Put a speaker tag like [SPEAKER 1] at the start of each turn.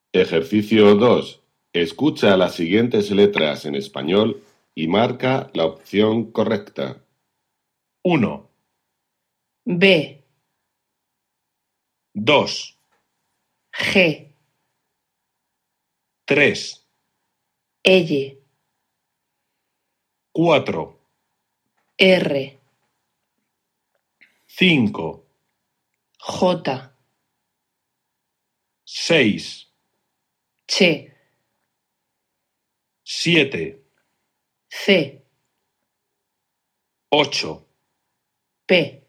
[SPEAKER 1] Ejercicio 2. Escucha las siguientes letras en español y marca la opción correcta.
[SPEAKER 2] 1,
[SPEAKER 3] B,
[SPEAKER 2] 2,
[SPEAKER 3] G,
[SPEAKER 2] 3,
[SPEAKER 3] L,
[SPEAKER 2] 4,
[SPEAKER 3] R,
[SPEAKER 2] 5,
[SPEAKER 3] J,
[SPEAKER 2] 6,
[SPEAKER 3] Ch,
[SPEAKER 2] 7,
[SPEAKER 3] C,
[SPEAKER 2] 8.
[SPEAKER 3] P.